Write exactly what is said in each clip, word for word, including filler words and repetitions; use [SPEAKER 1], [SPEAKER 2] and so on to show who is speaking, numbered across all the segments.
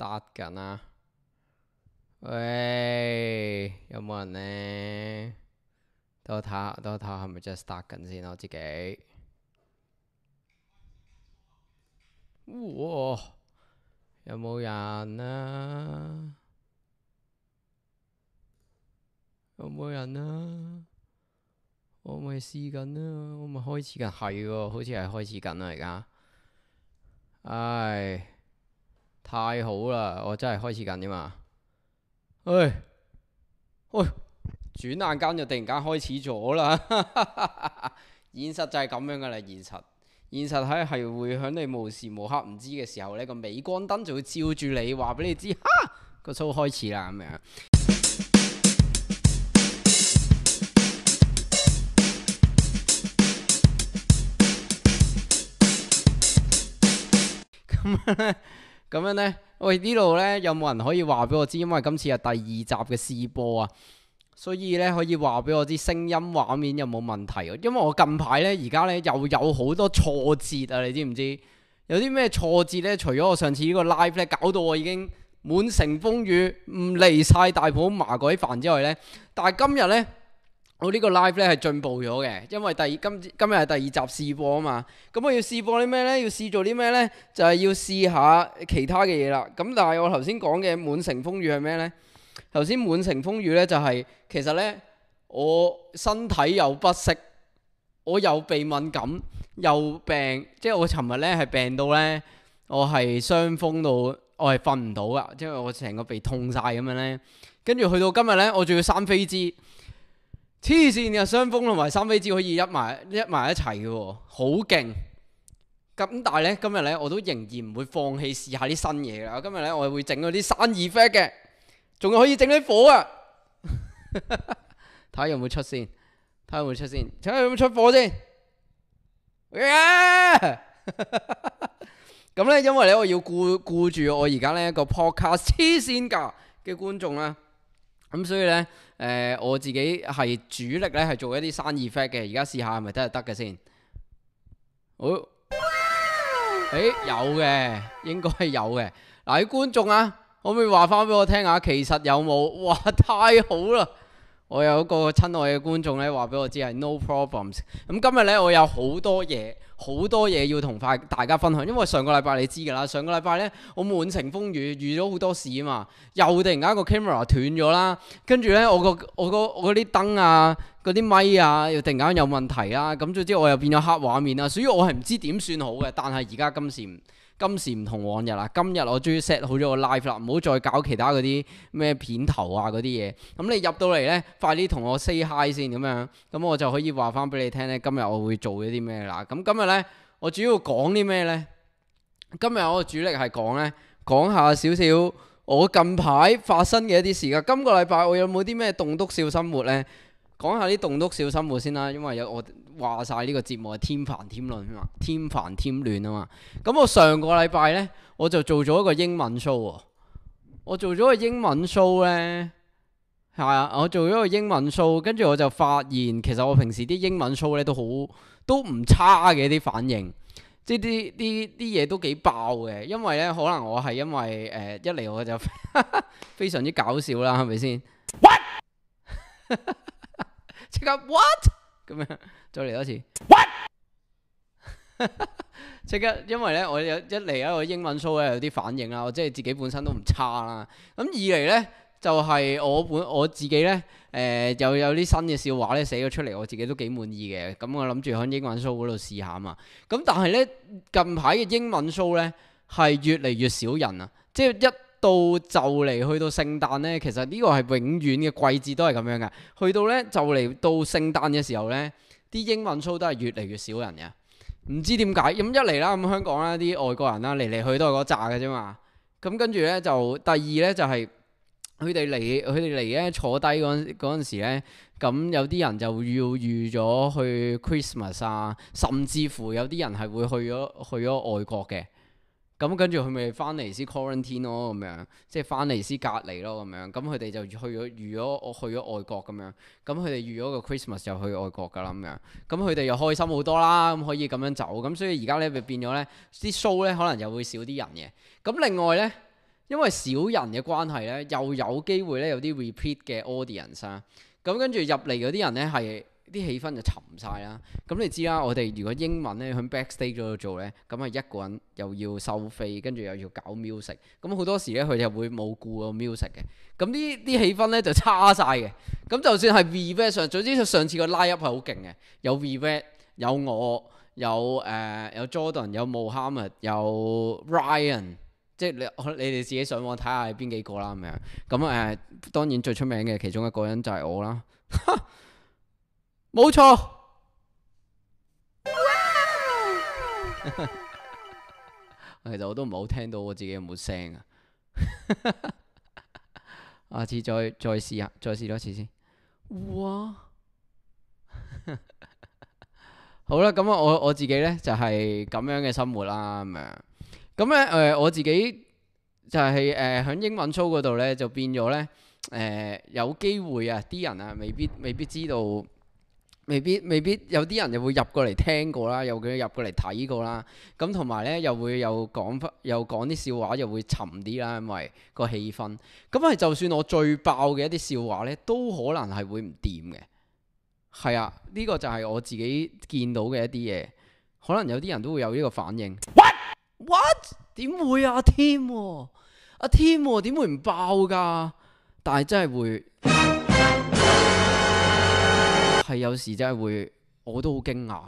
[SPEAKER 1] start 緊啊！喂，有冇人呢？等我睇下，等我睇下係咪真係 start 緊先我自己。哇！有冇人啊？有冇人啊？我咪試緊啊！我咪開始緊，係喎，好似係開始緊啦而家。唉，太好啦！我真係開始緊啫嘛。喂，喂，轉眼間就突然間開始咗啦。現實就係咁樣噶啦，現實，現實係係會喺你無時無刻唔知嘅時候呢個鎂光燈就會照住你，話俾你知，哈，個 show 開始啦咁樣。咁樣咧，咁樣咧，喂，呢度呢，有冇人可以話俾我知？因為今次係第二集嘅試播啊，所以呢，可以話俾我知聲音畫面有冇問題啊？因為我近排呢，而家呢，又有好多挫折啊！你知唔知？有啲咩挫折呢？除咗我上次呢個 live 呢，搞到我已經滿城風雨，唔離晒大埔麻鬼煩之外呢，但係今日呢。我呢個 live 咧係進步咗嘅，因為第今今日係第二集試播啊嘛。咁我要試播啲咩呢？要試做啲咩呢？就係、是、要試下其他嘅嘢啦。咁但係我頭先講嘅滿城風雨係咩呢？頭先滿城風雨呢，就係、是、其實呢，我身體又不適，我又鼻敏感，又病，即係我尋日呢係病到呢，我係傷風到，我係瞓唔到噶，即係我成個鼻痛晒咁樣呢。跟住去到今日呢，我仲要生飛枝。黐線嘅，傷風同埋生飛枝可以一埋一埋一齊嘅喎，好勁！咁但係咧，今日咧我都仍然唔會放棄試下啲新嘢啦。今日咧我會整嗰啲生 effect 嘅，仲可以整啲火啊！睇下有冇出先，睇下有冇出先，睇下有冇出火先。咁咧，因為咧我要顧顧住我而家呢一個 podcast 黐線㗎嘅觀眾啦。咁所以呢，誒、呃、我自己係主力呢係做一啲生 effect 嘅，而家試下係咪真係得嘅先？好、哦，誒、欸、有嘅，應該係有嘅。嗱，啲觀眾啊，可唔可以話翻俾我聽下？其實有冇？哇，太好啦！我有一個親愛嘅觀眾呢話俾我知係 no problems。咁今日呢，我有好多嘢。好多嘢要同快大家分享，因為上個禮拜你知㗎啦，上個禮拜呢，我滿城風雨，遇咗好多事啊嘛，又突然間個 camera 斷咗啦，跟住呢，我個我個我嗰啲燈啊，嗰啲咪啊，又突然間有問題啦，咁總之我又變咗黑畫面啦，所以我係唔知點算好嘅，但係而家今時唔今時唔同往日啦，今日我終於 set 好咗個 live 啦，唔好再搞其他嗰啲咩片頭啊嗰啲嘢。咁你入到嚟呢，快啲同我 say hi 先咁樣，咁我就可以話翻俾你聽呢，今日我會做一啲咩啦。咁今日呢，我主要講啲咩呢？今日我主力係講呢，講下少少我近排發生嘅一啲事噶。今個禮拜我有冇啲咩棟篤笑生活呢？講下啲棟篤笑生活先啦，因為有我話晒呢個節目係添煩添亂啊嘛，添煩添亂啊嘛。咁我上個禮拜呢，我就做咗一個英文 show 喎。我做咗個英文 show 呢，係啊，我做咗個英文 show，跟住我就發現其實我平時啲英文 show 呢都好都唔差嘅啲反應，即係啲啲啲嘢都幾爆嘅。因為呢，可能我係因為誒、呃、一嚟我就非常之搞笑啦，係咪先？What？即刻 what 咁樣，再嚟多次 what 即刻，因為咧我有一嚟一個英文 show 咧有啲反應啦，我即係自己本身都唔差啦。咁二嚟咧就係、是、我本我自己咧誒、呃、又有啲新嘅笑話咧寫咗出嚟，我自己都幾滿意嘅。咁我諗住喺英文 show 嗰度試下啊嘛。咁但係咧近排嘅英文 show 咧係越嚟越少人啊，即係一。到就嚟去到聖誕呢，其實呢個係永遠嘅季節都係咁樣嘅。去到呢，就嚟到聖誕嘅時候呢，啲英文 show 都係越嚟越少人嘅。唔知點解咁一嚟啦，咁香港啦啲外國人啦嚟嚟去都係嗰扎嘅啫嘛。咁跟住呢，就第二呢，就係佢哋嚟佢哋嚟呢坐低嗰嗰陣時呢，咁有啲人就要預咗去 Christmas 啊，甚至乎有啲人係會去咗去咗外國嘅。咁跟住佢咪翻嚟先 quarantine 咯，咁樣即係翻嚟先隔離咯，咁樣咁佢哋就去咗預咗我去咗外國咁樣，咁佢哋預咗個 Christmas 就去外國噶啦咁樣，咁佢哋又開心好多啦，咁可以咁樣走，咁所以而家咧咪變咗咧啲 show 咧可能又會少啲人嘅。咁另外咧因為少人嘅關係呢，又有機會呢有啲 repeat 嘅 audience 啊。咁跟住入嚟嗰啲人呢，係啲氣氛就沉晒啦。咁你知啦，我哋如果英文呢，喺 backstage 嗰度做呢，咁係一個人又要收飛，跟住又要搞 music。咁好多時呢，佢哋會冇顧個 music 嘅。咁呢啲氣氛呢，就差晒嘅。咁就算係 Vivek 上，總之上次個 line up 係好勁嘅，有 Vivek 有我。有誒、呃、有 Jordan 有 Mohammed 有 Ryan， 即係你你哋自己上網睇下係邊幾個啦咁樣。咁誒、呃、當然最出名嘅其中一個人就係我啦，冇錯。其實我都唔係好聽到我自己有冇聲啊。下次再再試下，再試多次先。哇！好啦，咁我我自己呢就係、是、咁樣嘅生活啦，咁樣。咁咧誒，我自己就係誒喺英文 show 嗰度呢，就變咗呢，誒、呃、有機會啊，啲人啊未必未必知道，未必未必有啲人又會入過嚟聽過啦，又會入過嚟睇過啦。咁同埋呢，又會有講翻，又講啲笑話，又會沉啲啦，因為個氣氛。咁係就算我最爆嘅一啲笑話呢，都可能係會唔掂嘅。係啊，呢、這個就係我自己見到嘅一啲嘢，可能有啲人都會有呢個反應。What what 點會啊？阿 Tim 阿 Tim 點會唔爆㗎？但係真係會係有時真係會，我都好驚訝。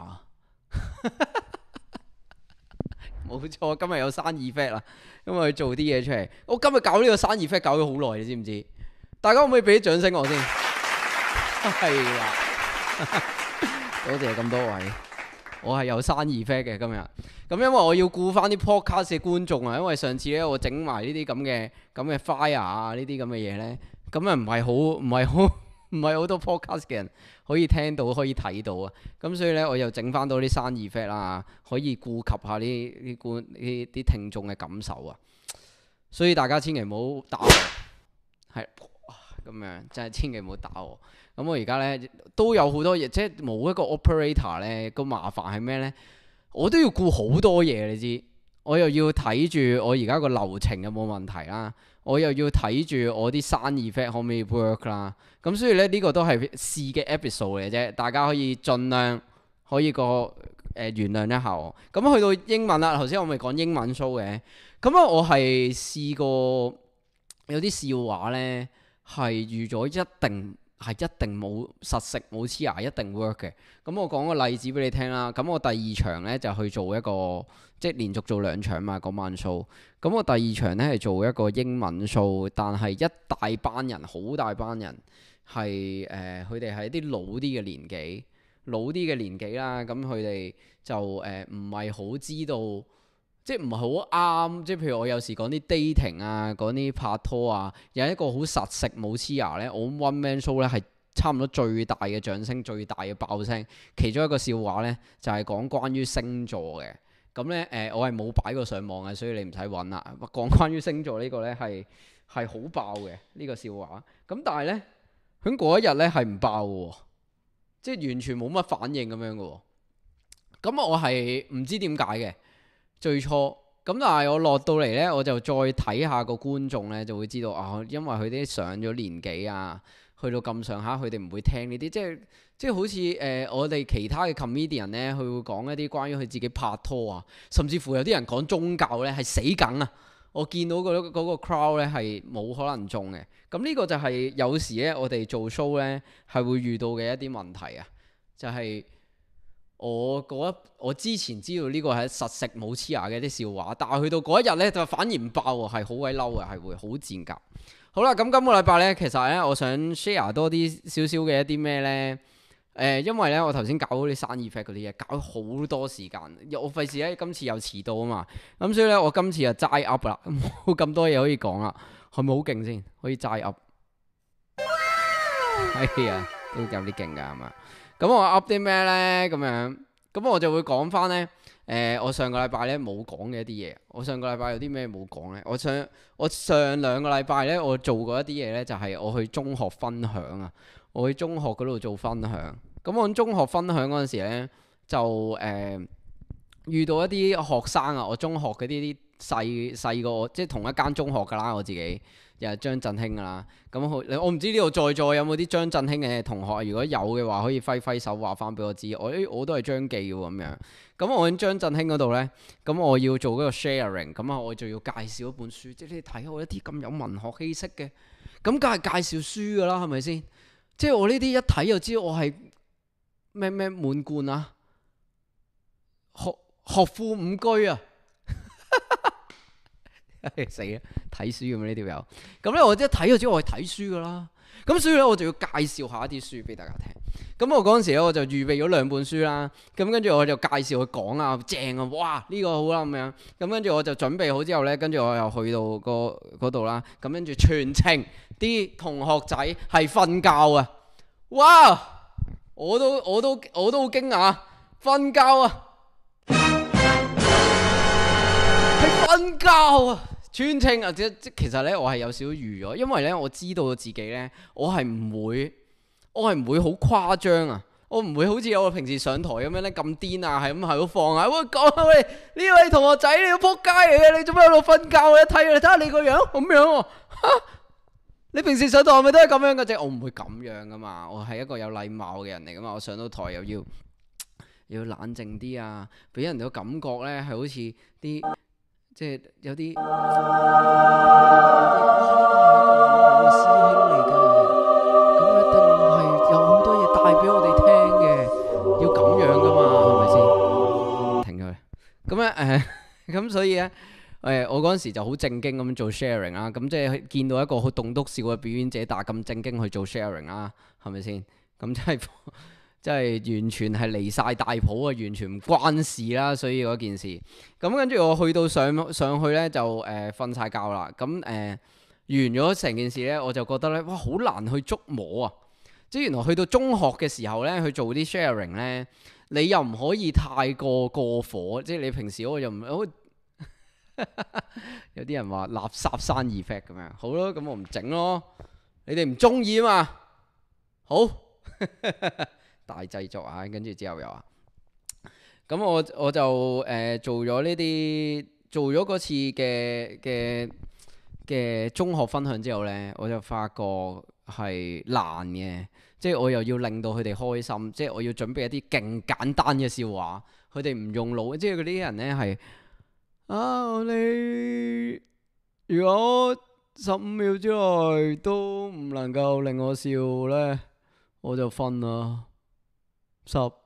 [SPEAKER 1] 冇錯，今日有生意 effect 啦，因為做啲嘢出嚟。我今日搞呢個生意 effect 搞咗好耐，你知唔知？大家可唔可以俾啲掌聲我先？係啦。多謝咁多位，我係有生意 effect 嘅今日。咁因為我要顧翻啲 podcast 嘅觀眾啊，因為上次咧我整埋呢啲咁嘅咁嘅 fire 啊，呢啲咁嘅嘢咧，咁啊唔係好唔係好唔係好多 podcast 嘅人可以聽到可以睇到啊。咁所以咧我又整翻到啲生意 effect 啦，可以顧及下呢啲觀呢啲聽眾嘅感受啊。所以大家千祈唔好打我，係咁樣，真係千祈唔好打我。咁我而家咧都有好多嘢，即係冇一個 operator 咧，個麻煩係咩咧？我都要顧好多嘢，你知？我又要睇住我而家個流程有冇問題啦，我又要睇住我啲生意 effect 可唔可以 work 啦。咁所以咧呢、呢個都係試嘅 episode 嚟啫，大家可以盡量可以個誒、呃、原諒一下我。咁去到英文啦，頭先我咪講英文 show 嘅，咁啊我係試過有啲笑話咧係預咗一定。係一定冇實食冇黐牙，一定 work 嘅。咁我講個例子俾你聽啦。咁我第二場呢，就去做一個，即係連續做兩場嘛，嗰晚 show。咁我第二場呢，係做一個英文 show，但係一大班人，好大班人，係誒佢哋係啲老啲嘅年紀，老啲嘅年紀啦。咁佢哋就誒唔係好知道。即係唔係好啱，即係譬如我有時講啲 dating 啊，講啲拍拖啊，有一個好實食冇黐牙呢。我 one man show 呢係差唔多最大嘅掌聲，最大嘅爆聲。其中一個笑話呢，就係、是、講關於星座嘅，咁呢，誒、呃、我係冇擺過上網嘅，所以你唔使揾啦。講關於星座呢個呢，係係好爆嘅呢、呢個笑話，咁但係呢，喺嗰一日呢係唔爆嘅，即係完全冇乜反應咁樣嘅。咁我係唔知點解嘅。最初咁，但係我落到嚟呢，我就再睇下個觀眾呢，就會知道啊，因為佢啲上咗年紀啊，去到咁上下，佢哋唔會聽呢啲，即係即係好似誒、呃、我哋其他嘅 comedian 呢，佢會講一啲關於佢自己拍拖啊，甚至乎有啲人講宗教呢係死梗啊！我見到嗰嗰個 crowd 呢係冇可能中嘅。咁呢個就係有時呢，我哋做 show 呢係會遇到嘅一啲問題啊，就係、是。我嗰一我之前知道呢個係實食冇黐牙嘅啲笑話，但係去到嗰一日呢，就反而唔爆喎，係好鬼嬲嘅，係會好賤格。好啦，咁今個禮拜呢，其實呢，我想 share 多啲少少嘅一啲咩呢？誒、呃，因為呢，我頭先搞嗰啲生意 effect 嗰啲嘢，搞咗好多時間，我費事呢，今次又遲到啊嘛，咁所以呢，我今次就齋 up 啦，冇咁多嘢可以講啦，係咪好勁先？可以齋 up？係啊，都有啲勁㗎係嘛？咁我 up 啲咩呢？咁樣，咁我就會講翻呢。誒、呃，我上個禮拜呢冇講嘅一啲嘢。我上個禮拜有啲咩冇講呢？我上我上兩個禮拜呢，我做過一啲嘢呢，就係、是、我去中學分享啊。我去中學嗰度做分享。咁我喺中學分享嗰陣時呢，就誒、呃、遇到一啲學生啊。我中學嗰啲啲細細過我，即係同一間中學㗎啦，我自己又係張振興㗎啦。咁好，我唔知呢度在座有冇啲張振興嘅同學，如果有嘅話，可以揮揮手話翻俾我知。我誒我都係張記喎咁樣。咁我喺張振興嗰度呢，咁我要做嗰個 sharing，咁啊我就要介紹一本書，即係你睇我一啲咁有文學氣息嘅，咁梗係介紹書㗎啦，係咪先？即係我呢啲一睇就知我係咩咩滿貫啊，學學富五車啊！死啦！睇書咁呢條友，咁咧我一睇就知我係睇書噶啦。咁所以咧我就要介紹下一啲書俾大家聽。咁我嗰陣時咧我就預備咗兩本書啦。咁跟住我就介紹佢講啊，正啊，哇呢個好啦咁樣。咁跟住我就準備好之後咧，跟住我又去到個嗰度啦。咁跟住全程啲同學仔係瞓覺啊！哇！我都我都我都好驚訝，瞓覺啊！係瞓覺啊！全程啊，即即其實咧，我係有少少預咗，因為咧我知道自己咧，我係唔會，我係唔會好誇張啊，我唔會好似我平時上台咁樣咧咁癲啊，係咁係咁放啊，喂講啊喂，呢位同學仔你要撲街嚟嘅，你做咩喺度瞓覺啊？一睇你睇下你個樣咁樣喎，嚇！你平時上台係咪都係咁樣嘅啫？我唔會咁樣噶嘛，我係一個有禮貌嘅人嚟噶嘛，我上到台又要又要冷靜啲啊，俾人哋個感覺咧係好似啲。即係有啲，有啲哇！呢個係一個好嘅師兄嚟嘅，咁一定係有好多嘢帶俾我哋聽嘅，要咁樣噶嘛，係咪先？停佢。咁咧誒，咁所以咧誒，我嗰陣時就好正經咁做 sharing 啦。咁即係見到一個好棟篤笑嘅表演者，但係咁正經去做 sharing 啦，係咪先？咁即係。即係完全係離晒大譜啊！完全唔關事啦，所以嗰件事。咁跟住我去到上上去呢，就誒瞓晒覺啦。咁誒、呃、完咗成件事呢，我就覺得呢，哇，好難去捉摸啊！即係原來去到中學嘅時候呢，去做啲 sharing 呢，你又唔可以太過過火。即係你平時我又唔好，有啲人話垃圾山 effect 咁樣。好咯，咁我唔整咯。你哋唔中意啊嘛？好。大製作啊，跟住之後又話，咁我我就誒、呃、做咗呢啲，做咗嗰次嘅嘅嘅中學分享之後呢，我就發覺係難嘅，即係我又要令到佢哋開心，即係我要準備一啲勁簡單嘅笑話，佢哋唔用腦，即係嗰啲人呢係啊，你如果十五秒之內都唔能夠令我笑呢，我就瞓啦。十九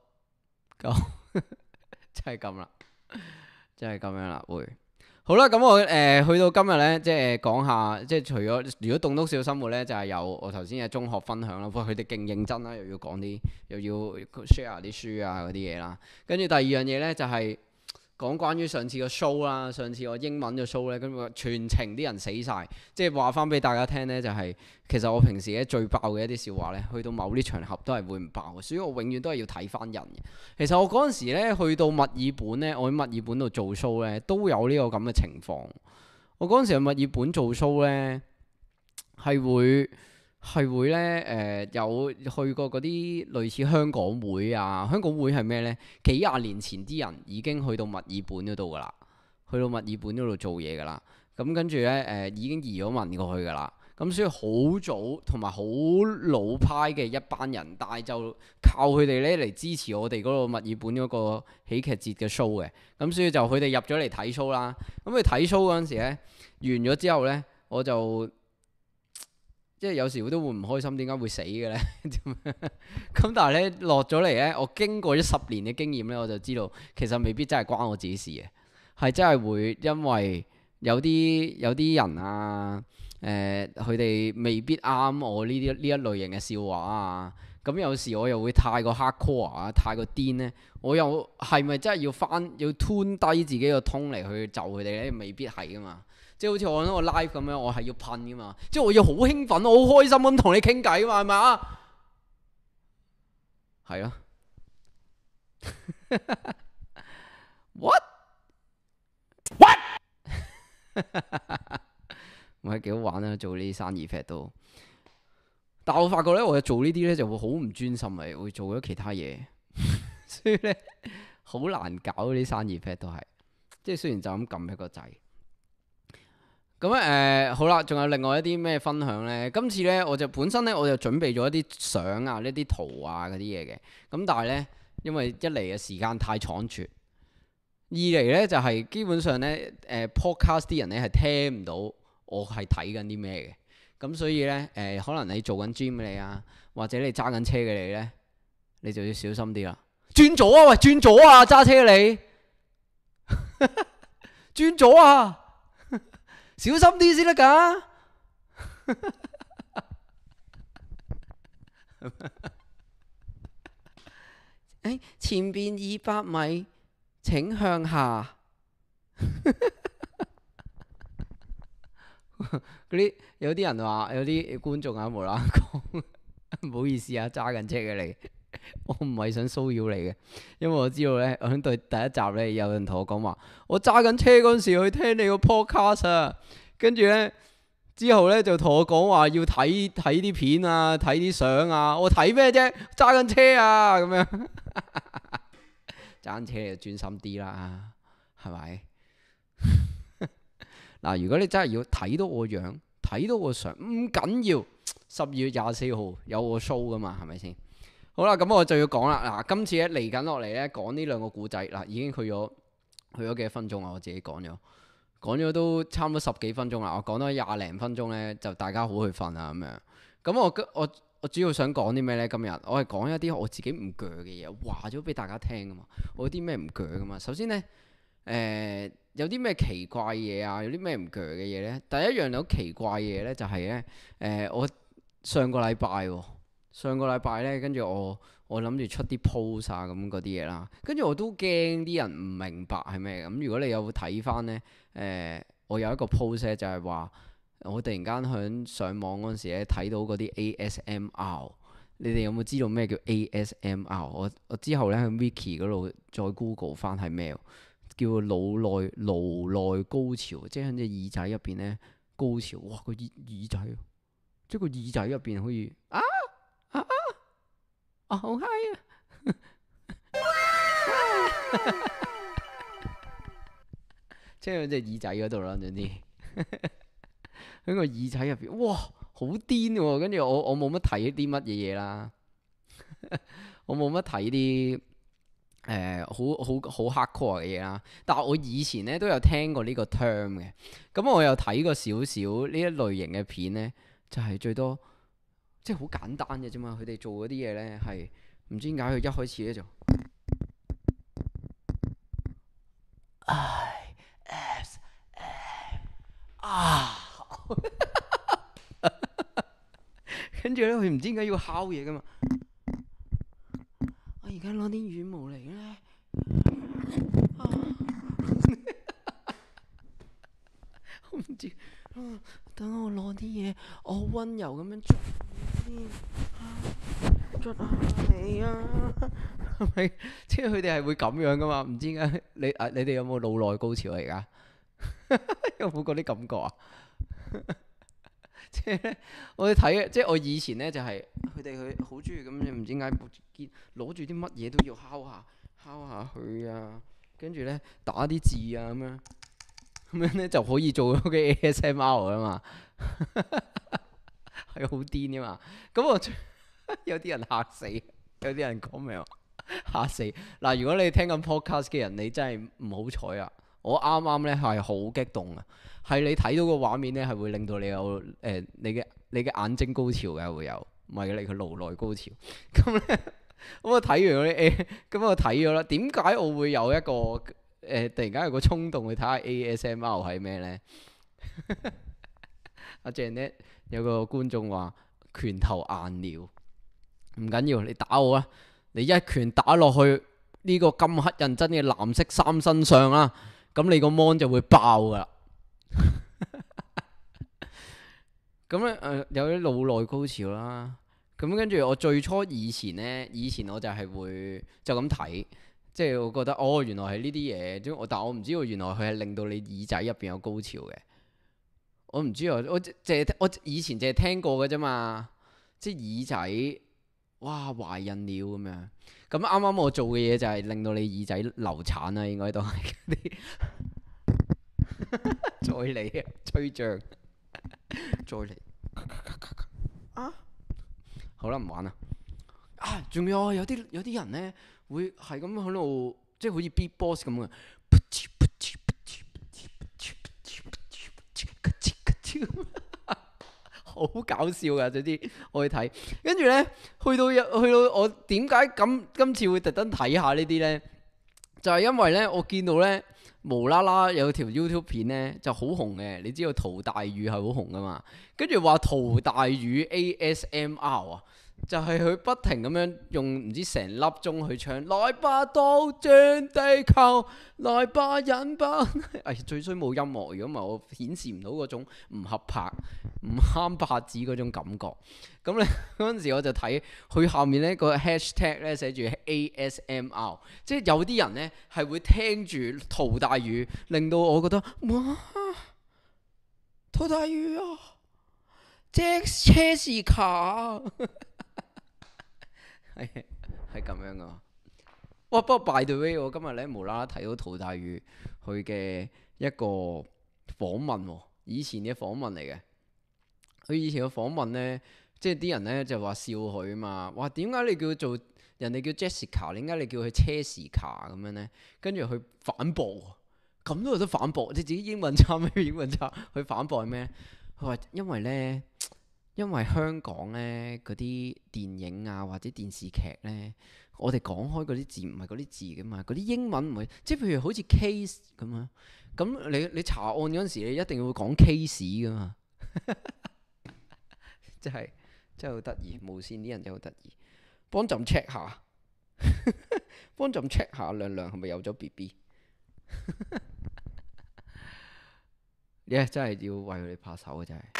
[SPEAKER 1] 真係咁啦，真係咁樣啦，會好啦。咁我誒、呃、去到今日呢，即係講下，即係除咗如果棟篤笑生活呢，就係、是、有我頭先嘅中學分享啦。不過佢哋勁認真啦，又要講啲，又要 share 啲書啊嗰啲嘢啦。跟住第二樣嘢呢，就係、是。講關於上次個 show 啦，上次我英文嘅 show 咧，咁個全程啲人死晒，即係話翻俾大家聽呢，就係、是、其實我平時咧最爆嘅一啲笑話呢，去到某啲場合都係會唔爆嘅，所以我永遠都係要睇翻人嘅。其實我嗰陣時咧去到墨爾本呢，我喺墨爾本度做 show 呢，都有呢個咁嘅情況。我嗰陣時喺墨爾本做 show 呢，係會。係會呢，誒、呃、有去過嗰啲類似香港會啊，香港會係咩呢？幾廿年前啲人已經去到墨爾本嗰度噶啦，去到墨爾本嗰度做嘢噶啦。咁跟住呢，誒、呃、已經移咗民過去噶啦。咁所以好早同埋好老派嘅一班人，但係就靠佢哋呢嚟支持我哋嗰個墨爾本嗰個喜劇節嘅 show 嘅。咁所以就佢哋入咗嚟睇 show 啦。咁佢睇 show 嗰陣時呢，完咗之後呢，我就。即係有時都會唔開心，點解會死嘅呢？咁但係呢，落咗嚟呢，我經過咗十年嘅經驗呢，我就知道其實未必真係關我自己事嘅，係真係會因為有啲有啲人啊，誒佢哋未必啱我呢啲呢一類型嘅笑話啊。咁有時我又會太過 hardcore 啊，太過癲呢，我又係咪真係要翻要 tune 低自己個 tone 嚟去就佢哋呢？未必係噶嘛。即係好似我喺個 live 咁樣，我係要噴噶嘛，即係我要好興奮，我好開心咁同你傾偈嘛，係咪啊？係啊。What？What？唔係幾好玩啊！做呢啲生意 fat 都，但我發覺咧，我做呢啲咧就會好唔專心嚟，會做咗其他嘢，所以咧好難搞啲生意 fat 都係，即係雖然就咁撳一個掣。 咁誒好啦，仲有另外一啲咩分享呢？今次呢，我就本身呢，我就準備咗一啲相啊、呢啲圖啊嗰啲嘢嘅。咁但係呢，因為一嚟嘅時間太倉促，二嚟呢就係、是、基本上呢，誒、呃、podcast 啲人呢係聽唔到我係睇緊啲咩嘅。咁所以呢，誒、呃、可能你做緊 gym 你啊，或者你揸緊車嘅你呢，你就要小心啲啦。轉左啊！喂，轉左啊！揸車你轉左啊！小心啲先得㗎！誒，前邊二百米請向下。嗰啲有啲人話，有啲觀眾啊無啦啦講，唔好意思啊，揸緊車嘅你，我唔係想騷擾你嘅，因為我知道咧，我喺對第一集咧有人同我講話，我揸緊車嗰陣時去聽你個 podcast 啊，跟住咧之後咧就同我講話要睇睇啲片啊，睇啲相啊，我睇咩啫？揸緊車啊，咁樣揸緊車就專心啲啦，係咪？嗱，如果你真係要睇到我樣，睇到我相，唔緊要。十二月廿四號有我 show 噶嘛，係咪先？好啦，咁我就要講啦。嗱，今次咧嚟緊落嚟咧講呢兩個故仔，嗱已經去咗去咗幾多分鐘啊？我自己講咗，講咗都差唔多十幾分鐘啦。我講多廿零分鐘咧，就大家好去瞓啊咁樣。咁我我我主要想講啲咩咧？今日我係講一啲我自己唔鋸嘅嘢，話咗俾大家聽噶嘛。我有啲咩唔鋸噶嘛？首先咧，誒、呃。有啲咩奇怪嘢啊？有啲咩唔鋸嘅嘢呢？第一樣有奇怪嘢呢，就係呢。誒，我上個禮拜喎，上個禮拜呢，跟住我我諗住出啲 post 啊咁嗰啲嘢啦，跟住我都驚啲人唔明白係咩咁。如果你有睇翻呢，誒、呃，我有一個 post 呢就係話我突然間響上網嗰陣時咧睇到嗰啲 A S M R， 你哋有冇知道咩叫 A S M R？ 我我之後呢，喺 Wiki 嗰度再 Google 翻係咩？叫腦內顱內高潮，即係喺隻耳仔入邊咧高潮，哇個耳耳仔，即係個耳仔入邊可以啊啊啊好嗨啊！即係喺隻耳仔嗰度啦，總之喺個耳仔入邊，哇好癲喎！跟住我我冇乜睇啲乜嘢嘢啦，我冇乜睇啲。誒、呃、好好好 hardcore 嘅嘢啦，但係我以前咧都有聽過呢個 term 嘅，咁我有睇過少少呢一類型嘅片咧，就係、是、最多即係好簡單嘅啫嘛，佢哋做嗰啲嘢咧係唔知點解佢一開始咧就 I S M 啊，跟住咧佢唔知點解要敲嘢噶嘛。而家攞啲羽毛嚟咧，啊、我唔知、啊，等我攞啲嘢，我好溫柔咁樣捽先，捽下你啊，係咪？即係佢哋係會咁樣噶嘛？唔知點解你啊？你哋有冇腦內高潮嚟噶？有冇嗰啲感覺啊？即係我哋睇，即係我以前咧就係佢哋佢好中意咁樣，唔知點解攞住啲乜嘢都要敲下敲下佢啊，跟住咧打啲字啊咁樣，咁樣咧就可以做嗰個 A S M R 啊嘛，係好癲噶嘛。咁我有啲人嚇死，有啲人講咩話嚇死。嗱，如果你聽緊 podcast 嘅人，你真係唔好彩啊！我啱啱咧係好激動啊！係你睇到個畫面咧，係會令到你有誒、呃、你嘅你嘅眼睛高潮嘅會有，唔係你佢顱內高潮。咁咧，咁我睇完嗰啲 A，咁我睇咗啦。點解我會有一個誒、呃、突然間有個衝動去睇下 A S M R 係咩咧？阿 Janet 有個觀眾話拳頭硬了，唔緊要，你打我啊！你一拳打落去呢個咁黑人憎嘅藍色衫身上啦，咁你個 mon 就會爆噶啦。咁咧誒有啲腦內高潮啦，咁跟住我最初以前呢，以前我就係會就咁睇，即係我覺得哦原來係呢啲嘢，但我唔知道原來佢係令到你耳仔入邊有高潮嘅，我唔知啊，我淨係我以前淨係聽過嘅啫嘛，即係耳仔哇懷孕了咁樣，咁啱啱我做嘅嘢就係令到你耳仔流產啦，應該都係嗰啲。 再嚟啊，吹脹，再嚟啊！好啦，唔玩啦。啊，仲有有啲有啲人咧會係咁喺度，即係好似 beatbox 咁嘅。好搞笑噶，總之我去睇，跟住咧去到去到我點解咁今次會特登睇下呢啲咧？就係因為咧，我見到咧無啦啦有條 YouTube 片咧就好紅嘅，你知道陶大宇係好紅噶嘛？跟住話陶大宇 A S M R 啊，就係佢不停咁樣用唔知成粒鐘去唱，來吧倒轉地球，來吧引吧。哎，最衰冇音樂，如果唔係我顯示唔到嗰種唔合拍、唔啱拍子嗰種感覺。咁咧嗰陣時我就睇佢下面咧個 hashtag 咧寫住 A S M R， 即係有啲人咧係會聽住陶大宇，令到我覺得哇，陶大宇啊，即車士卡，係係咁樣噶。哇！不過 by the way，我今日咧無啦啦睇到陶大宇佢嘅一個訪問，以前嘅訪問嚟嘅。佢以前嘅訪問咧。即係啲人咧就話笑佢啊嘛，哇，點解你叫佢做人哋叫 Jessica， 點解你叫佢車士卡咁樣咧？跟住佢反駁，咁都有得反駁？你自己英文差咩？英文差？佢反駁係咩？佢話因為咧，因為香港咧嗰啲電影啊或者電視劇咧，我哋講開嗰啲字唔係嗰啲字噶嘛，嗰啲英文唔會，即係譬如好似 case 咁樣，咁你你查案嗰陣時，你一定要講 case 噶嘛，即係。真係好得意，無線啲人真係好得意。幫朕 check 下，幫朕 check 下亮亮係咪有咗 B B？ 你係真係要為佢哋拍手嘅真係。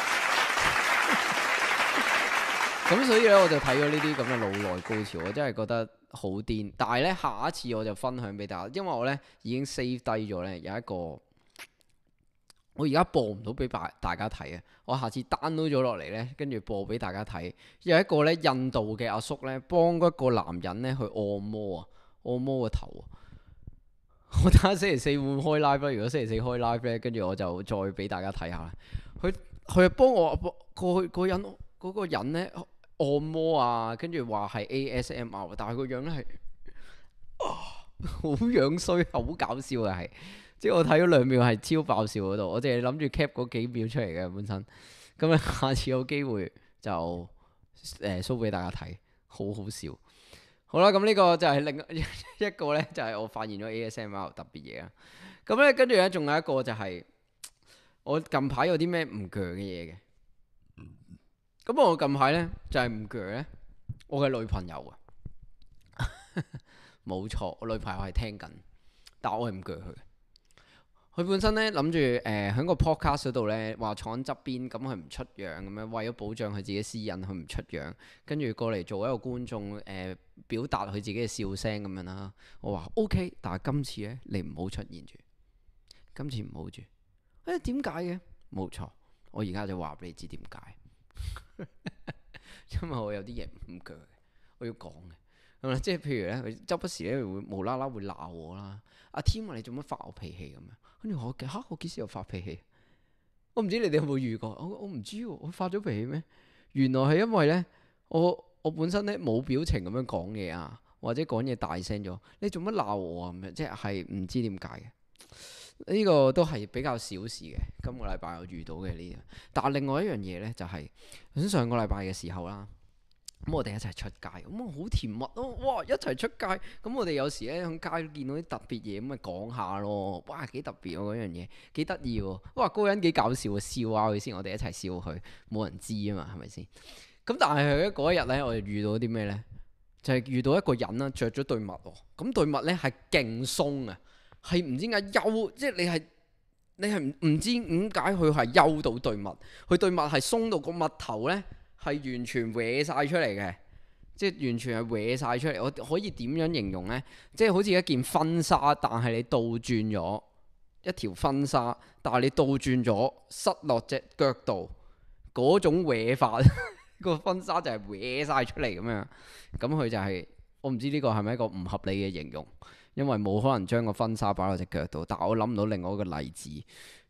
[SPEAKER 1] 咁所以咧，我就睇咗呢啲咁嘅腦內高潮，我真係覺得好癲。但係咧，下一次我就分享俾大家，因為我咧已經 save 低咗咧有一個。我而家播唔到俾大家睇啊！我下次 download 咗落嚟咧，跟住播俾大家睇。有一個咧印度嘅阿叔咧，幫嗰個男人咧去按摩啊，按摩個頭啊。我睇下星期四會唔會開 live 啦。如果星期四開 live 咧，跟住我就再俾大家睇下。佢佢幫我過去嗰人嗰、嗰個人咧按摩啊，跟住話係 A S M R， 但係個樣咧係好樣衰，好搞笑嘅係。即係我睇咗兩秒係超爆笑嗰度，我淨係諗住 cap 嗰幾秒出嚟嘅本身。咁咧下次有機會就誒 show 俾大家睇，好好笑。好啦，咁呢個就係另一個咧，就係我發現咗 A S M R 特別嘢啦。咁咧跟住咧仲有一個就係我近排有啲咩唔鋸嘅嘢嘅。咁我近排咧就係唔鋸咧，我嘅女朋友啊，冇錯，我女朋友係聽緊，但我係唔鋸佢。佢本身咧諗住誒喺個 podcast 嗰度咧話坐喺側邊，咁佢唔出樣咁樣，為咗保障佢自己私隱，佢唔出樣，跟住過嚟做一個觀眾誒、呃，表達佢自己嘅笑聲咁樣啦。我話 OK，但係今次咧你唔好出現住，今次唔好住。誒點解嘅？冇錯，我而家就話俾你知點解，因為我有啲嘢唔鋸嘅，我要講嘅。係咪？即係譬如咧，佢周不時咧會無啦啦會鬧我啦。阿天話你做乜發我脾氣咁樣？跟住我嚇我幾時又發脾氣？我唔知你哋有冇遇過？我我唔知喎，我發咗脾氣咩？原來係因為咧，我我本身咧冇表情咁樣講嘢啊，或者講嘢大聲咗。你做乜鬧我啊？咁樣即係唔知點解嘅。呢個都係比較小事嘅。今個禮拜我遇到嘅呢樣，但係另外一樣嘢咧就係喺上個禮拜嘅時候啦。咁我哋一齊出街，咁啊好甜蜜咯！哇，一齊出街，咁我哋有時咧喺街見到啲特別嘢，咁咪講下咯。哇，幾特別喎嗰樣嘢，幾得意喎！哇，嗰個人幾搞笑啊，笑下佢先，我哋一齊笑佢，冇人知啊嘛，係咪先？咁但係佢嗰一日咧，我哋遇到啲咩咧？就係、是、遇到一個人啦，着咗對襪喎。咁對襪咧係勁鬆啊，係唔知點解休，即係你係你係唔唔知點解佢係休到對襪，佢對襪係鬆到個襪頭咧。係完全歪晒出嚟嘅，即係完全係歪晒出嚟。我可以點樣形容呢？即係好似一件婚紗，但係你倒轉咗一條婚紗，但係你倒轉咗塞落隻腳度嗰種歪法，個婚紗就係歪晒出嚟咁樣。咁佢就係、是、我唔知呢個係咪一個唔合理嘅形容，因為冇可能將個婚紗擺落隻腳度。但係我諗唔到另外一個例子。咁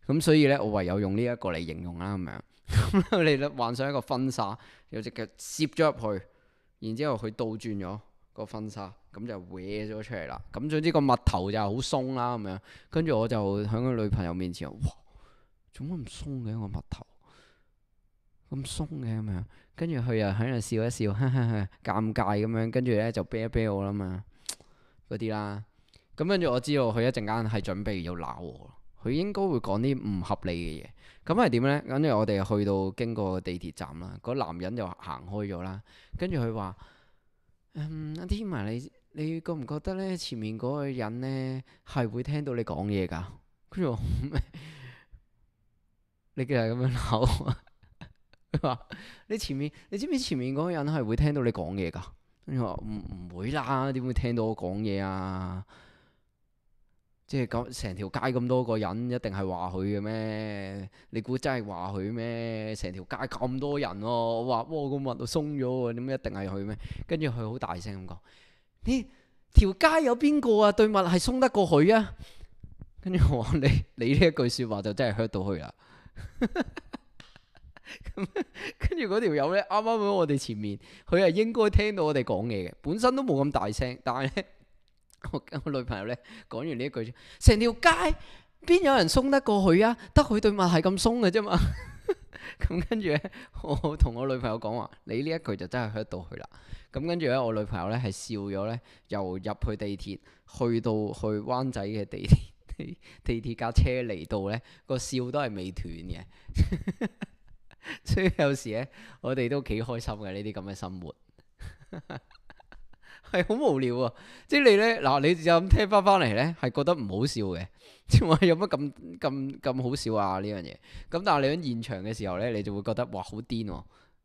[SPEAKER 1] 咁所以咧，我唯有用呢一個嚟形容啦咁樣。咁你咧幻想一個婚紗，有隻腳攝咗入去，然之後佢倒轉咗個婚紗，咁就歪咗出嚟啦。咁總之個襪頭就好鬆啦咁樣。跟住我就喺個女朋友面前，哇！做乜咁鬆嘅個襪頭？咁鬆嘅咁樣。跟住佢又喺度笑一笑，哈哈哈，尷尬咁樣。跟住咧就啤一啤我啦嘛，嗰啲啦。咁跟住我知道佢一陣間係準備要鬧我，佢應該會講啲唔合理嘅嘢。咁係點呢？跟住我哋去到經過地鐵站啦，嗰男人就行開咗啦。跟住佢話：嗯，阿添啊，你你覺唔覺得呢？前面嗰個人呢係會聽到你講嘢㗎？跟住我咩？你竟然咁樣鬧我？佢話：你前面，你知唔知前面嗰個人係會聽到你講嘢㗎？跟住我話：唔唔會啦，點會聽到我講嘢啊？即係咁成條街咁多個人，一定係話佢嘅咩？你估真係話佢咩？成條街咁多人喎，我話哇個襪都鬆咗喎，點解一定係佢咩？跟住佢好大聲咁講：呢條街有邊個啊？對襪係鬆得過佢啊？跟住我話你你呢一句説話就真係 hurt 到佢啦。咁跟住嗰條友咧，啱啱喺我哋前面，佢係應該聽到我哋講嘢嘅，本身都冇咁大聲，但係咧。我我女朋友咧講完呢一句，成條街邊有人鬆得過佢啊？得佢對襪係咁鬆嘅啫嘛。咁跟住咧，我同我女朋友講話：你呢一句就真係 hurt 到佢啦。咁跟住咧，我女朋友咧係笑咗咧，由入去地鐵去到去灣仔嘅地鐵地地鐵架車嚟到咧，個笑都係未斷嘅。所以有時咧，我哋都幾開心嘅呢啲咁嘅生活。係好無聊啊！即係你咧嗱，你就咁聽翻翻嚟咧，係覺得唔好笑嘅。即係話有乜咁咁咁好笑啊呢樣嘢？咁但係你喺現場嘅時候咧，你就會覺得哇好癲喎！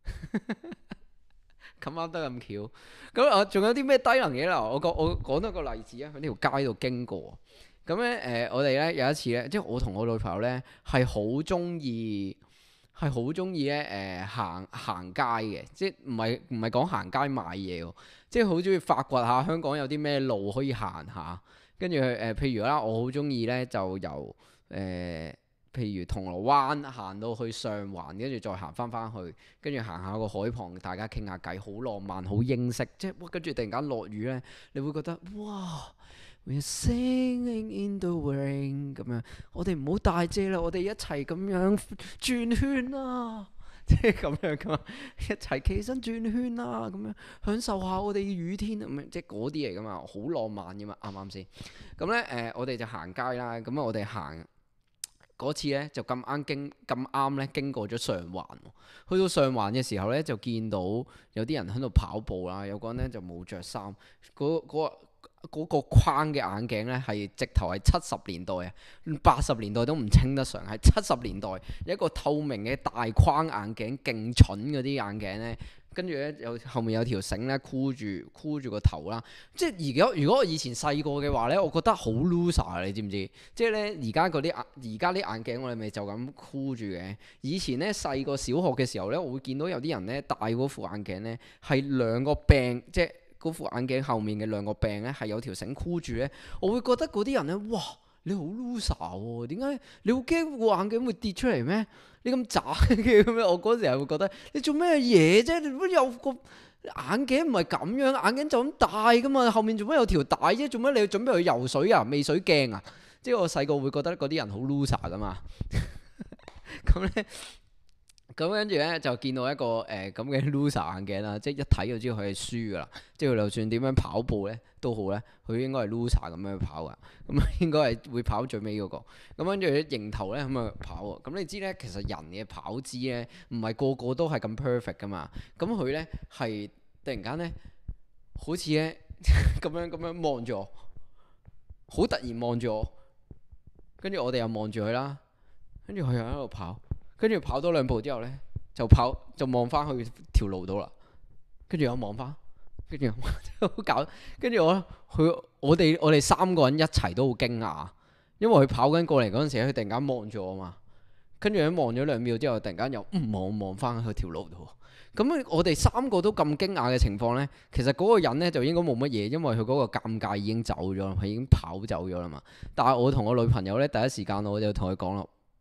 [SPEAKER 1] 咁啱得咁巧。咁啊，仲有啲咩低能嘢啦？我講我講多個例子啊，喺呢條街度經過。咁咧誒，我哋咧有一次咧，即係我同我女朋友咧係好中意。係好中意咧誒行行街嘅，即係唔係唔係講行街買嘢喎，即係好中意發掘下香港有啲咩路可以行下，跟住誒譬如啦，我好中意咧就由誒、呃、譬如銅鑼灣行到去上環，跟住再行翻翻去，跟住行下個海旁，大家傾下偈，好浪漫，好英式，即係哇！跟住突然間落雨咧，你會覺得哇〜We're singing in the rain 咁樣，我哋唔好大遮啦，我哋一齊咁樣轉圈啦，即係咁樣噶嘛，一齊企身轉圈啦，咁樣享受下我哋嘅雨天咁樣，即係嗰啲嚟噶嘛，好浪漫噶嘛，啱唔啱先？咁咧誒，我哋就行街啦，咁啊我哋行嗰次咧就咁啱經咁啱咧經過咗上環，去到上環嘅時候咧就見到有啲人喺度跑步啦，有個人咧就冇着衫，嗰嗰個。嗰個框嘅眼鏡呢，係直頭係七十年代啊，八十年代都唔稱得上，係七十年代一個透明嘅大框眼鏡，勁蠢嗰啲眼鏡呢。跟住呢，有後面有條繩呢，箍住箍住個頭啦。即係而家如果我以前細個嘅話呢，我覺得好 loser 啊，你知唔知？即係呢，而家嗰啲眼而家啲眼鏡我哋咪就咁箍住嘅。以前呢，細個小學嘅時候呢，我會見到有啲人呢，戴嗰副眼鏡呢，係兩個柄，即係。嗰副眼鏡後面嘅兩個柄咧係有條繩箍住咧，我會覺得嗰啲人咧，哇！你好 loser 喎，點解你好驚副眼鏡會跌出嚟咩？你咁渣嘅咁樣，我嗰時係會覺得你做咩嘢啫？你乜有個眼鏡唔係咁樣，眼鏡就咁戴噶嘛，後面做咩有條帶啫？做咩你要準備去游水啊？未水鏡啊？即係我細個會覺得嗰啲人好 loser 噶嘛。咁咧。咁跟住咧就見到一個誒咁嘅 loser 眼鏡啦，即係一睇就知道佢係輸噶啦。即係佢就算點樣跑步咧都好咧，佢應該係 loser 咁樣跑噶。咁啊應該係會跑最尾嗰個。咁跟住咧迎頭咧咁啊跑喎。咁你知咧其實人嘅跑姿咧唔係個個都係咁 perfect 噶嘛。咁佢咧係突然間咧好似咧咁樣咁樣望住我，好突然望住我。跟住我哋又望住佢啦，跟住佢又喺度跑。跟住跑多兩步之後呢，就跑就望翻去條路度啦。跟住又望翻，跟住好搞。跟住我佢我哋我哋三個人一齊都好驚訝，因為佢跑緊過嚟嗰陣時，佢突然間望住我嘛。跟住佢望咗兩秒之後，突然間又唔望望翻去條路度。咁我哋三個都咁驚訝嘅情況呢，其實嗰個人呢就應該冇乜嘢，因為佢嗰個尷尬已經走咗啦，佢已經跑走咗啦嘛。但係我同我女朋友呢，第一時間我就同佢講啦。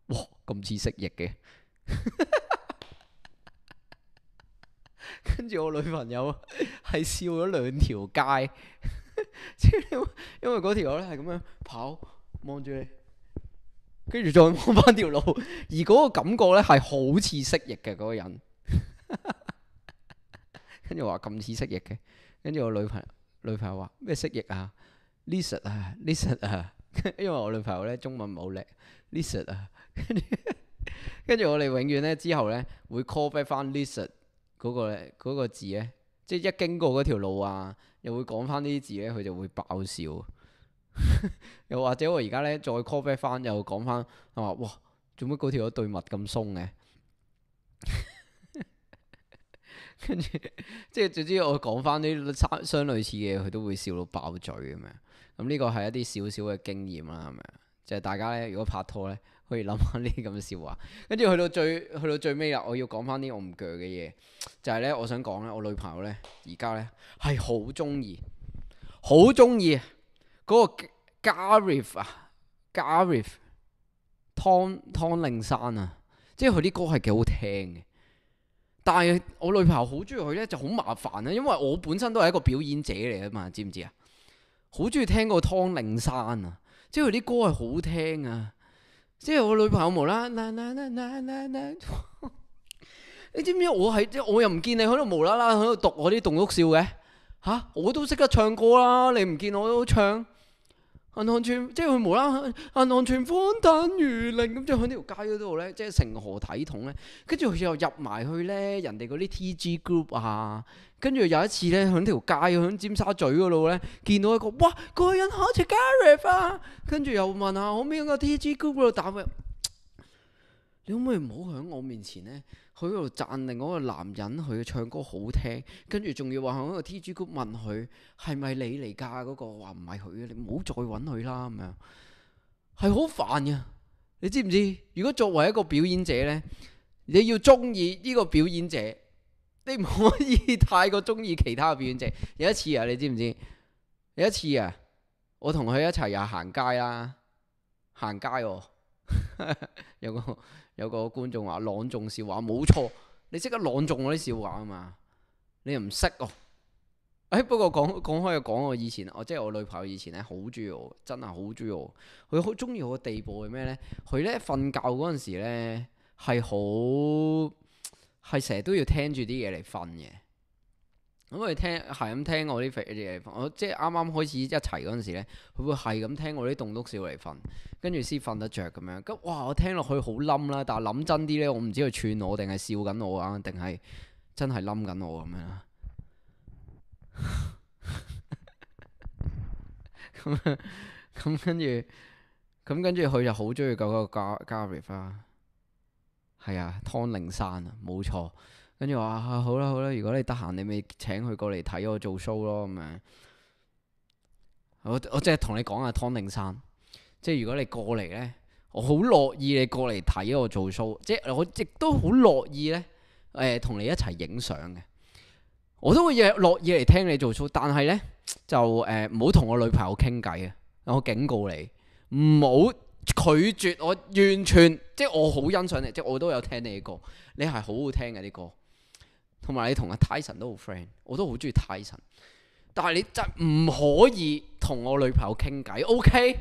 [SPEAKER 1] 哇咁似蜥蜴嘅。跟住我女朋友係笑咗兩條街，即係因為嗰條友咧係咁樣跑望住你，跟住再望翻條路，而嗰個感覺咧係好似蜥蜴嘅嗰個人。跟住話咁似蜥蜴嘅，跟住我女朋友女朋友話咩蜥蜴啊 lizard 啊 lizard 啊，因為我女朋友咧中文唔好叻 lizard 啊，跟住跟住我哋永遠咧之後咧會 call back 翻 lizard 嗰個嗰個字咧，即係一經過嗰條路啊，又會講翻呢啲字咧，佢就會爆笑。又或者我而家咧再 call back 翻，又講翻我話哇，做乜嗰條友對襪咁鬆嘅？跟住即係總之我講翻啲相相類似嘅嘢，佢都會笑到爆嘴咁樣。咁呢個係一啲少少嘅經驗啦，係咪？就係大家咧，如果拍拖咧，可以諗下呢啲咁嘅笑話。跟住去到最去到最尾啦，我要講翻啲我唔鋸嘅嘢，就係咧，我想講咧，我女朋友咧而家咧係好中意，好中意嗰個 Gareth 啊 ，Gareth 湯湯令山啊，即係佢啲歌係幾好聽嘅。但係我女朋友好中意佢咧，就好麻煩啊，因為我本身都係一個表演者嚟啊嘛，知唔知啊？好中意聽個湯令山啊，即係佢啲歌係好聽啊，即係我女朋友無啦啦啦啦啦啦啦，你知唔知我係即我又唔見你喺度無啦啦喺度讀我啲棟篤笑嘅吓、啊，我都識得唱歌啦，你唔見我都唱。銀行存即係佢無啦啦，銀行存款等於零咁，即係喺呢條街嗰度咧，即係成何體統咧？跟住佢又入埋去咧，人哋嗰啲 T G group 啊，跟住有一次咧，喺條街喺尖沙咀嗰度咧，見到一個哇，嗰個人好似 Gareth 啊，跟住又問下可唔可以喺個 T G group 嗰度打佢？你可唔可以唔好喺我面前咧，佢喺度讚另外一個男人，佢嘅唱歌好聽，跟住仲要話喺個 T G group 問佢係咪你嚟㗎？嗰個話唔係佢嘅，你唔好再揾佢啦咁樣，係好煩嘅。你知唔知？如果作為一個表演者咧，你要中意呢個表演者，你唔可以太過中意其他嘅表演者。有一次啊，你知唔知？有一次啊，我同佢一齊又行街啦，行街喎、哦，有個。有個觀眾話朗誦笑話，冇錯，你識得朗誦我啲笑話啊嘛？你又唔識哦？誒，不過講講開又講我以前，我即係我女朋友以前咧，好中意我，真係好中意我。佢好中意我嘅地步係咩咧？佢咧瞓覺嗰陣時咧係好係成日都要聽住啲嘢嚟瞓嘅。咁佢聽係咁聽我啲肥嘢嚟瞓，我即係啱啱開始一齊嗰陣時咧，佢會係咁聽我啲棟篤笑嚟瞓，跟住先瞓得着咁樣。咁哇，我聽落去好冧啦，但係諗真啲咧，我唔知佢串我定係笑緊我啊，定係真係冧緊我咁樣啦。咁咁跟住，咁跟住佢就好中意嗰個 Gareth 啊，係啊，湯令山啊，冇錯。跟住話啊，好啦好啦，如果你得閒，你咪請佢過嚟睇我做 show 咯咁樣。我我即係同你講下湯令山，即係如果你過嚟呢，我好樂意你過嚟睇我做 show，即係我亦都好樂意呢，誒、呃、同你一齊影相嘅。我都會樂意嚟聽你做 show，但係呢，就誒唔好同我女朋友傾偈啊！我警告你，唔好拒絕我，完全即係我好欣賞你，即係我都有聽你嘅歌，你係好好聽嘅啲歌。同埋你同阿 Tyson 都好 friend，我都好中意 Tyson。但係你真唔可以同我女朋友傾偈 ，OK？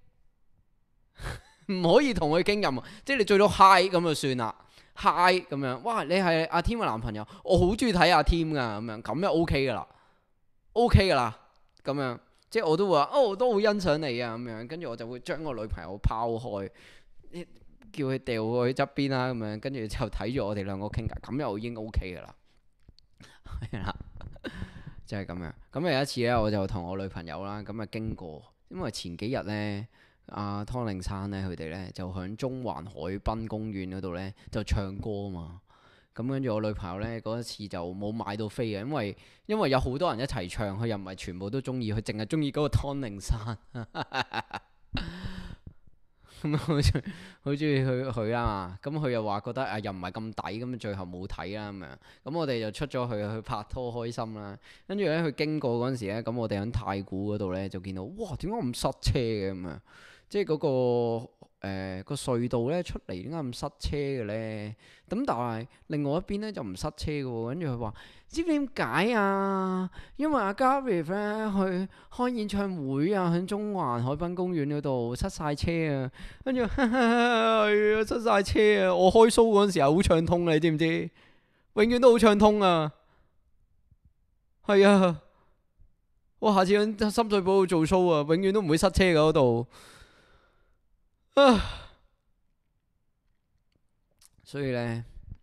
[SPEAKER 1] 唔可以同佢傾任何，即係你最多 hi 咁就算啦 ，hi 咁樣。哇，你係阿 Tim 嘅男朋友，我好中意睇阿 Tim 噶，咁樣咁就 OK 噶啦 ，OK 噶啦，咁樣即係我都會話，哦，我都好欣賞你啊，咁樣跟住我就會將個女朋友拋開。叫佢掉過去側邊啦，咁樣跟住就睇住我哋兩個傾偈，咁又已經 OK 噶啦。係啦，就係咁樣。咁有一次咧，我就同我女朋友啦，咁啊經過，因為前幾日咧，阿湯令山咧，佢哋咧就響中環海濱公園嗰度咧就唱歌啊嘛。咁跟住我女朋友咧嗰一次就冇買到飛嘅，因為因為有好多人一齊唱，佢又唔係全部都中意，佢淨係中意嗰個湯令山。咁好中好中意佢佢啦嘛，咁佢又話覺得啊又唔係咁抵，咁最後冇睇啦咁樣。咁我哋就出咗去去拍拖開心啦。跟住咧佢經過嗰陣時咧，咁我哋喺太古嗰度咧就見到，哇，點解咁塞車嘅咁樣？ 即係嗰個誒個隧道咧出嚟點解咁塞車嘅咧？咁但係另外一邊咧就唔塞車嘅喎。跟住佢話知唔知點解啊？因為阿 Gareth 咧去開演唱會啊，喺中環海濱公園嗰度塞晒車啊。跟住係啊，塞晒車啊！我開 show 嗰陣時候好暢通啊，你知唔知？永遠都好暢通啊！係啊，我下次喺深水埗度做 show 啊，永遠都唔會塞車嘅嗰度。啊，所以呢，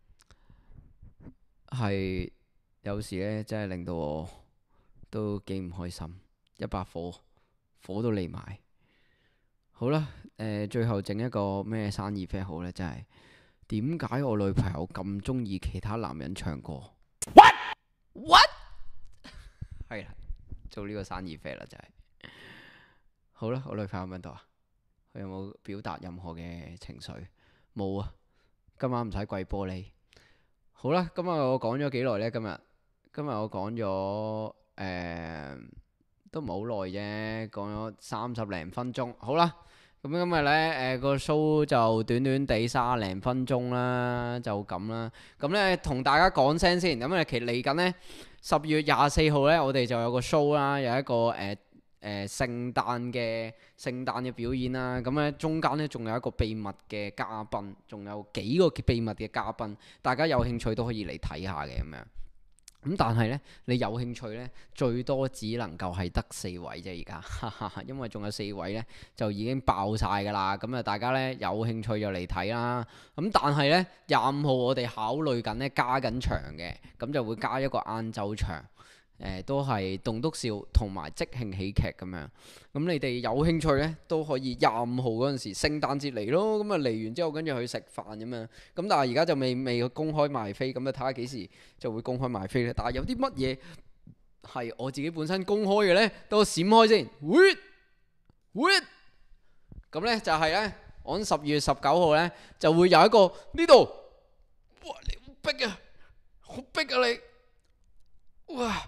[SPEAKER 1] 係有時呢，真係令到我都幾唔開心，一把火，火都嚟埋。好啦，誒，最後整一個咩生意 fair 好呢？真係點解我女朋友咁中意其他男人唱歌？What what？係啦，做呢個生意 fair 啦，真係。好啦，我女朋友喺邊度啊？佢有冇表達任何嘅情緒？冇啊！今晚唔使跪玻璃。好啦，今日我講咗幾耐呢？今日今日我講咗誒，都唔係好耐啫，講咗三十零分鐘。好啦，咁今日呢誒個 show 就短短地三十零分鐘啦，就咁啦。咁呢同大家講聲先，咁啊其實嚟緊呢十月廿四號呢，我哋就有個 show 啦，有一個誒。呃誒、呃、聖誕嘅聖誕嘅表演啦，咁咧中間咧仲有一個秘密嘅嘉賓，仲有幾個秘密嘅嘉賓，大家有興趣都可以嚟睇下嘅咁樣。咁但係咧，你有興趣咧，最多只能夠係得四位啫，而家，因為仲有四位咧就已經爆晒㗎啦。咁啊，大家咧有興趣就嚟睇啦。咁但係咧，廿五號我哋考慮緊咧加緊場嘅，咁就會加一個晏晝場。誒、呃、都係棟篤笑同埋即興喜劇咁樣，咁你哋有興趣呢，都可以廿五號嗰陣時聖誕節嚟咯，咁啊嚟完之後跟住去食飯咁樣，咁但係而家就未未公開賣飛，咁啊睇下幾時就會公開賣飛咧。但係有啲乜嘢係我自己本身公開嘅呢？等我閃開先，喂喂，咁呢就係呢，我喺十月十九號呢，就會有一個呢度，哇你好逼啊，好逼啊你，哇！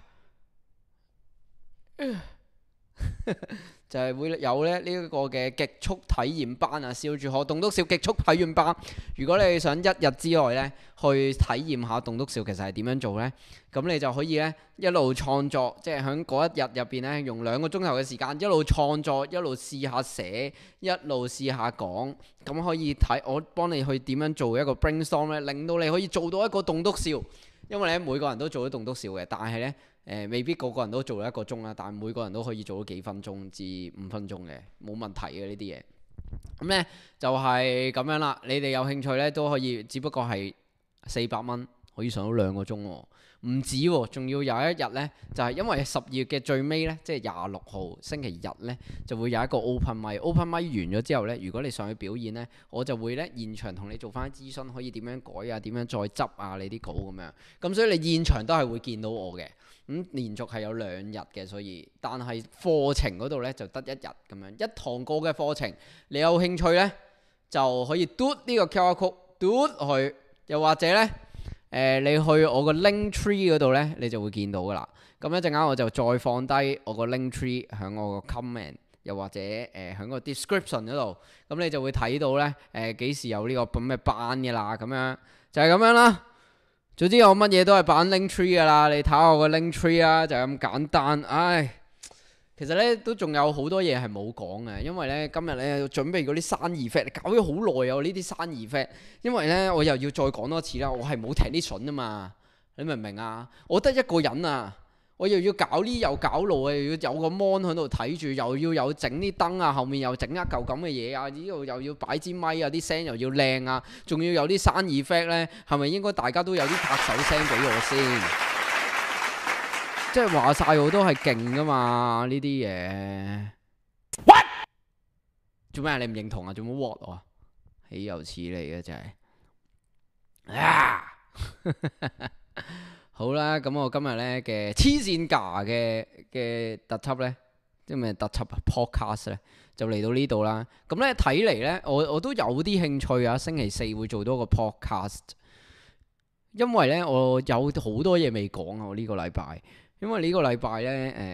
[SPEAKER 1] 就係會有咧呢一個嘅極速體驗班啊，笑住學棟篤笑極速體驗班。如果你想一日之內咧去體驗下棟篤笑其實係點樣做呢？咁你就可以咧一路創作，即係喺嗰一日入邊咧用兩個鐘頭嘅時間一路創作，一路試下寫，一路試下講。咁可以睇我幫你去點樣做一個 brainstorm 咧，令到你可以做到一個棟篤笑。因為咧每個人都做到棟篤笑嘅，但係咧。誒、呃、未必個個人都做到一個鐘啦，但係每個人都可以做到幾分鐘至五分鐘嘅，冇問題嘅呢啲嘢。咁呢就係、是、咁樣啦，你哋有興趣呢都可以，只不過係四百蚊可以上到兩個鐘喎，唔止喎，仲要有一日呢，就係、是、因為十二月嘅最尾呢，即係廿六號星期日呢，就會有一個 open mic，open mic 完咗之後呢，如果你上去表演呢，我就會呢現場同你做翻諮詢，可以點樣改啊，點樣再執啊你啲稿咁樣。咁所以你現場都係會見到我嘅。咁、嗯、連續係有兩日嘅，所以但係課程嗰度呢，就得一日咁樣，一堂過嘅課程，你有興趣呢，就可以嘟呢個 Q R code 嘟去，又或者呢，誒、呃、你去我個 link tree 嗰度呢，你就會見到噶啦。咁一陣間我就再放低我個 link tree 喺我個 comment，又或者誒喺、呃、個 description 嗰度，咁你就會睇到呢，誒、呃、幾時有呢個咁嘅班嘅啦，咁樣就係、是、咁樣啦。總之我乜嘢都係擺 link tree 噶啦，你睇下我個 link tree 啊，就咁簡單。唉，其實呢都仲有好多嘢係冇講嘅，因為呢今日呢要準備嗰啲生意 fact，搞咗好耐啊呢啲生意 fact，因為呢我又要再講多次啦，我係冇踢啲筍啊嘛，你明唔明啊？我得一個人啊，我又要搞呢又搞路啊，又要有個 mon 喺度睇住，又要有整啲燈啊，後面又整一嚿咁嘅嘢啊，呢度又要擺支咪啊，啲聲又要靚啊，仲要有啲生意 effect 呢，係咪應該大家都有啲拍手聲俾我先？即係話晒我都係勁噶嘛呢啲嘢。What？ 做咩啊？你唔認同啊？做乜 what 我啊？豈有此理啊！真係啊！好啦，咁我今日呢嘅黐線架嘅嘅特輯呢，即係咩特輯啊 podcast 呢，就嚟到呢度啦。咁呢睇嚟呢，我我都有啲興趣啊。星期四會做多個 podcast，因為呢我有好多嘢未講啊。我呢個禮拜，因為呢個禮拜呢，誒、呃，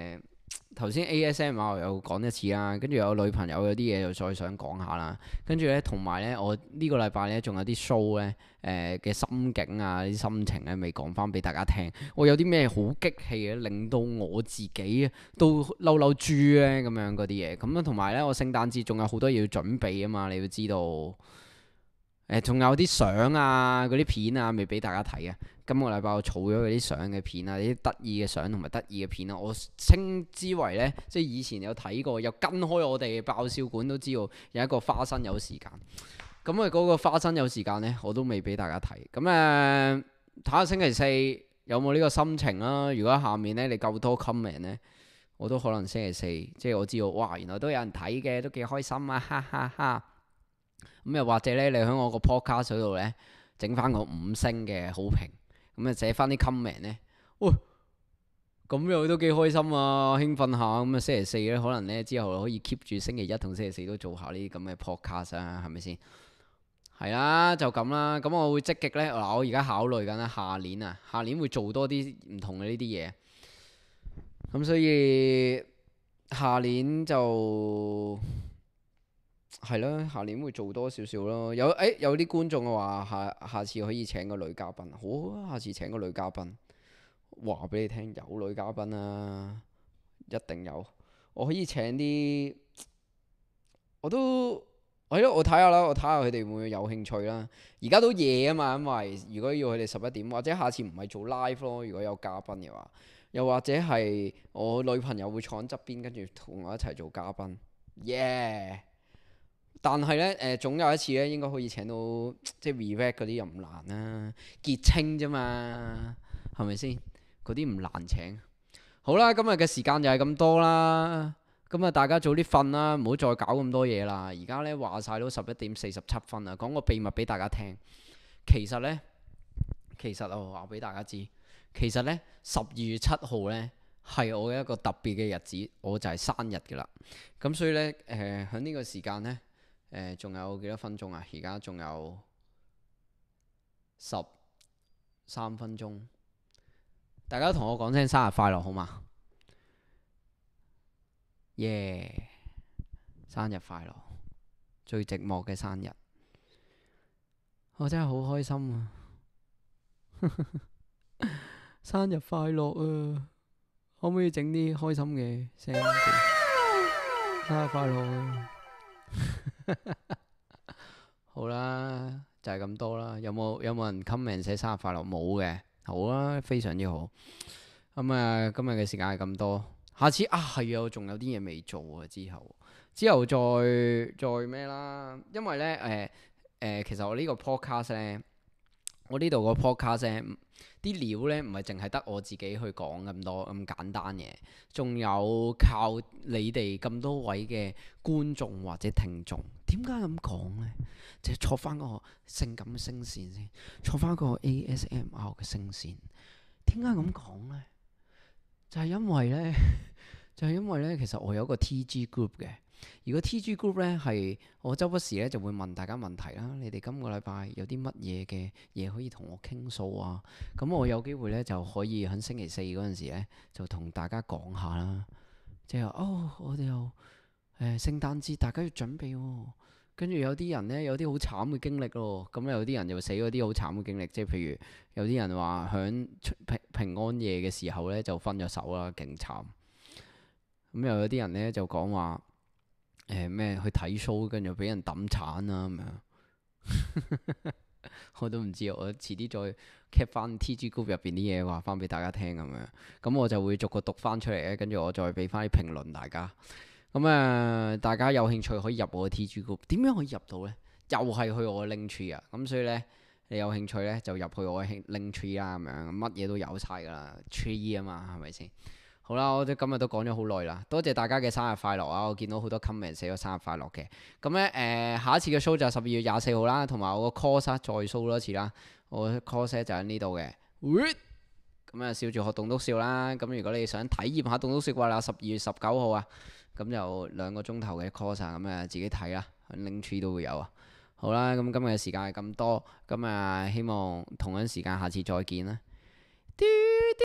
[SPEAKER 1] 頭先 A S M R 又講一次啦，跟住有女朋友有啲嘢又再想講下啦，跟住呢，同埋呢，我呢個禮拜呢，仲有啲 show 呢誒嘅心境啊啲心情呢未講翻俾大家聽，我有啲咩好激氣嘅令到我自己都嬲嬲豬呢咁樣嗰啲嘢，咁啊同埋呢，我聖誕節仲有好多嘢要準備啊嘛，你要知道。誒，仲有啲相啊，嗰啲片啊，未俾大家睇啊。今個禮拜我儲咗嗰啲相嘅片啊，啲得意嘅相同埋得意嘅片啊。我稱之為呢，即係以前有睇過，有跟開我哋嘅爆笑館都知道有一個花生有時間。咁啊，嗰個花生有時間呢，我都未俾大家睇。咁誒，睇下星期四有冇呢個心情啦。如果下面呢，你夠多 comment 呢，我都可能星期四，即係我知道，哇，原來都有人睇嘅，都幾開心啊，哈哈哈。咁又或者咧，你喺我個 podcast 度咧整翻個五星嘅好評，咁啊寫翻啲 comment 咧，喂，咁又都幾開心啊，興奮下，咁啊星期四咧可能咧之後可以 keep 住星期一同星期四都做下呢啲咁嘅 podcast 啊，係咪先？係啦，就咁啦，咁我會積極咧，嗱我而家考慮緊啦，下年啊，下年會做多啲唔同嘅呢啲嘢，咁所以下年就。係咯，下年會做多少少咯。有誒、欸，有啲觀眾話下下次可以請個女嘉賓，好啊，下次請個女嘉賓，話俾你聽有女嘉賓啊，一定有。我可以請啲，我都係咯，我睇下啦，我睇下佢哋會唔會有興趣啦。而家都夜啊嘛，因為如果要佢哋十一點，或者下次唔係做 live 咯，如果有嘉賓嘅話，又或者係我女朋友會坐喺側邊，跟住同我一齊做嘉賓，耶、yeah!！但係呢，誒、呃、總有一次呢，應該可以請到即係 revet 嗰啲又唔難啦，結清啫嘛，係咪先？嗰啲唔難請。好啦，今日嘅時間就係咁多啦，咁啊大家早啲瞓啦，唔好再搞咁多嘢啦。而家呢，話晒都十一點四十七分啦，講個秘密俾大家聽。其實呢，其實我話俾大家知，其實呢，十二月七號呢，係我嘅一個特別嘅日子，我就係生日㗎啦。咁所以呢，誒喺呢個時間呢。誒，仲、呃、有幾多分鐘啊？而家仲有十三分鐘，大家同我講聲生日快樂好嘛？耶！生日快樂，最寂寞嘅生日，我真係好開心啊！生日快樂啊！可唔可以整啲開心嘅聲？生日快樂啊！好啦，就係咁多啦。有冇有冇人 comment 寫生日快樂？冇嘅，好啦，非常之好。咁啊，今日嘅時間係咁多。下次啊，係啊，我仲有啲嘢未做啊。之後之後再再咩啦？因為呢，誒、呃、誒、呃，其實我呢個 podcast 呢，我呢度個 podcast 呢，啲料呢唔係淨係得我自己去講咁多咁簡單嘅，仲有靠你哋咁多位嘅觀眾或者聽眾。點解咁講呢？就係坐翻個性感嘅聲線先，坐翻個 A S M R 嘅聲線。點解咁講呢？就係因為呢，就係因為呢，其實我有個 T G group 嘅。如果 T G group 呢，係我周不時呢就會問大家問題啦。你哋今個禮拜有啲乜嘢嘅嘢可以同我傾訴啊？咁我有機會呢，就可以喺星期四嗰陣時呢就同大家講下啦。即係哦，我哋又誒聖誕節大家要準備喎。跟住有啲人呢，有啲好慘嘅經歷咯。咁有啲人就死嗰啲好慘嘅經歷，即係譬如有啲人話響平平安夜嘅時候呢，就分咗手啦，勁慘。咁又有啲人呢，就講話誒咩去睇 show，跟住俾人抌鏟啦咁樣。我都唔知，我遲啲再 cap 翻 T G group 入邊啲嘢話翻俾大家聽咁樣。咁我就會逐個讀翻出嚟咧，跟住我再俾翻啲評論大家。咁誒、呃，大家有興趣可以入我嘅 T G group，點樣可以入到呢？又係去我嘅 link tree 啊！咁所以呢，你有興趣呢，就入去我嘅 link tree 啦，咁樣乜嘢都有晒噶啦 tree 啊嘛，係咪先？好啦，我哋今日都講咗好耐啦，多謝大家嘅生日快樂啊！我見到好多 comment 寫咗生日快樂嘅。咁呢，誒、呃，下一次嘅 show 就係十二月廿四號啦，同埋我個 course 再 show 多一次啦。我 course 就喺呢度嘅。咁啊，笑住學棟篤笑啦。咁如果你想體驗下棟篤笑嘅話，十二月十九號啊。咁就兩個鐘頭嘅 course，咁啊自己睇啦，link tree 都會有啊。好啦，咁今日嘅時間係咁多，咁啊希望同樣時間下次再見啦。